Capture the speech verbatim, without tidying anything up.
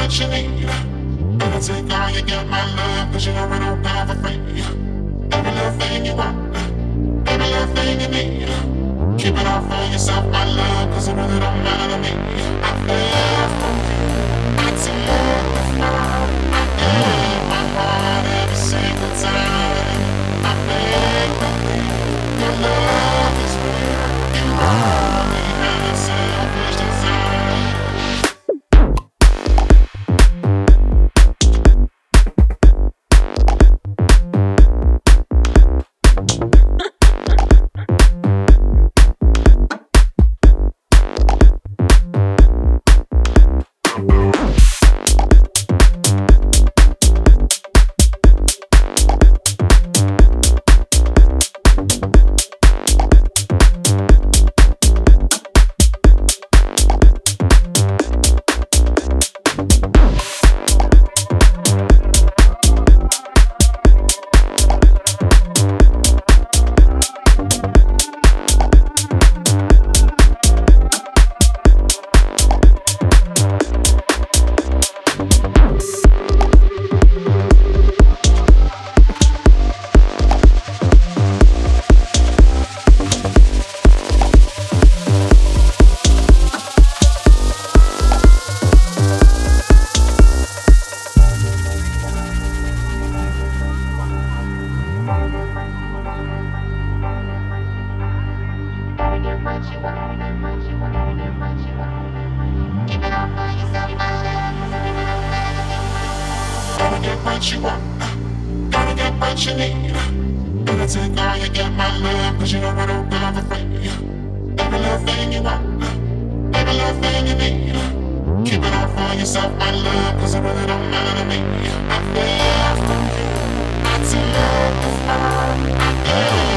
what you need. Gonna take all you got, my love, cause you know we don't go for free. Every little thing you want, every little thing you need. Keep it all for yourself, my love, cause it really don't matter to me. I feel for you, I take the floor. I gave my heart every single time. I beg, believe your love is real. You only have a selfish desire. Gotta get what you want, gotta get what you need. Gonna take all you got, my love, cause you know we don't go for free. Every little thing you want, every little thing you need. Keep it all for yourself, my love, cause it really don't matter to me. I feel for you, I take the fall, I feel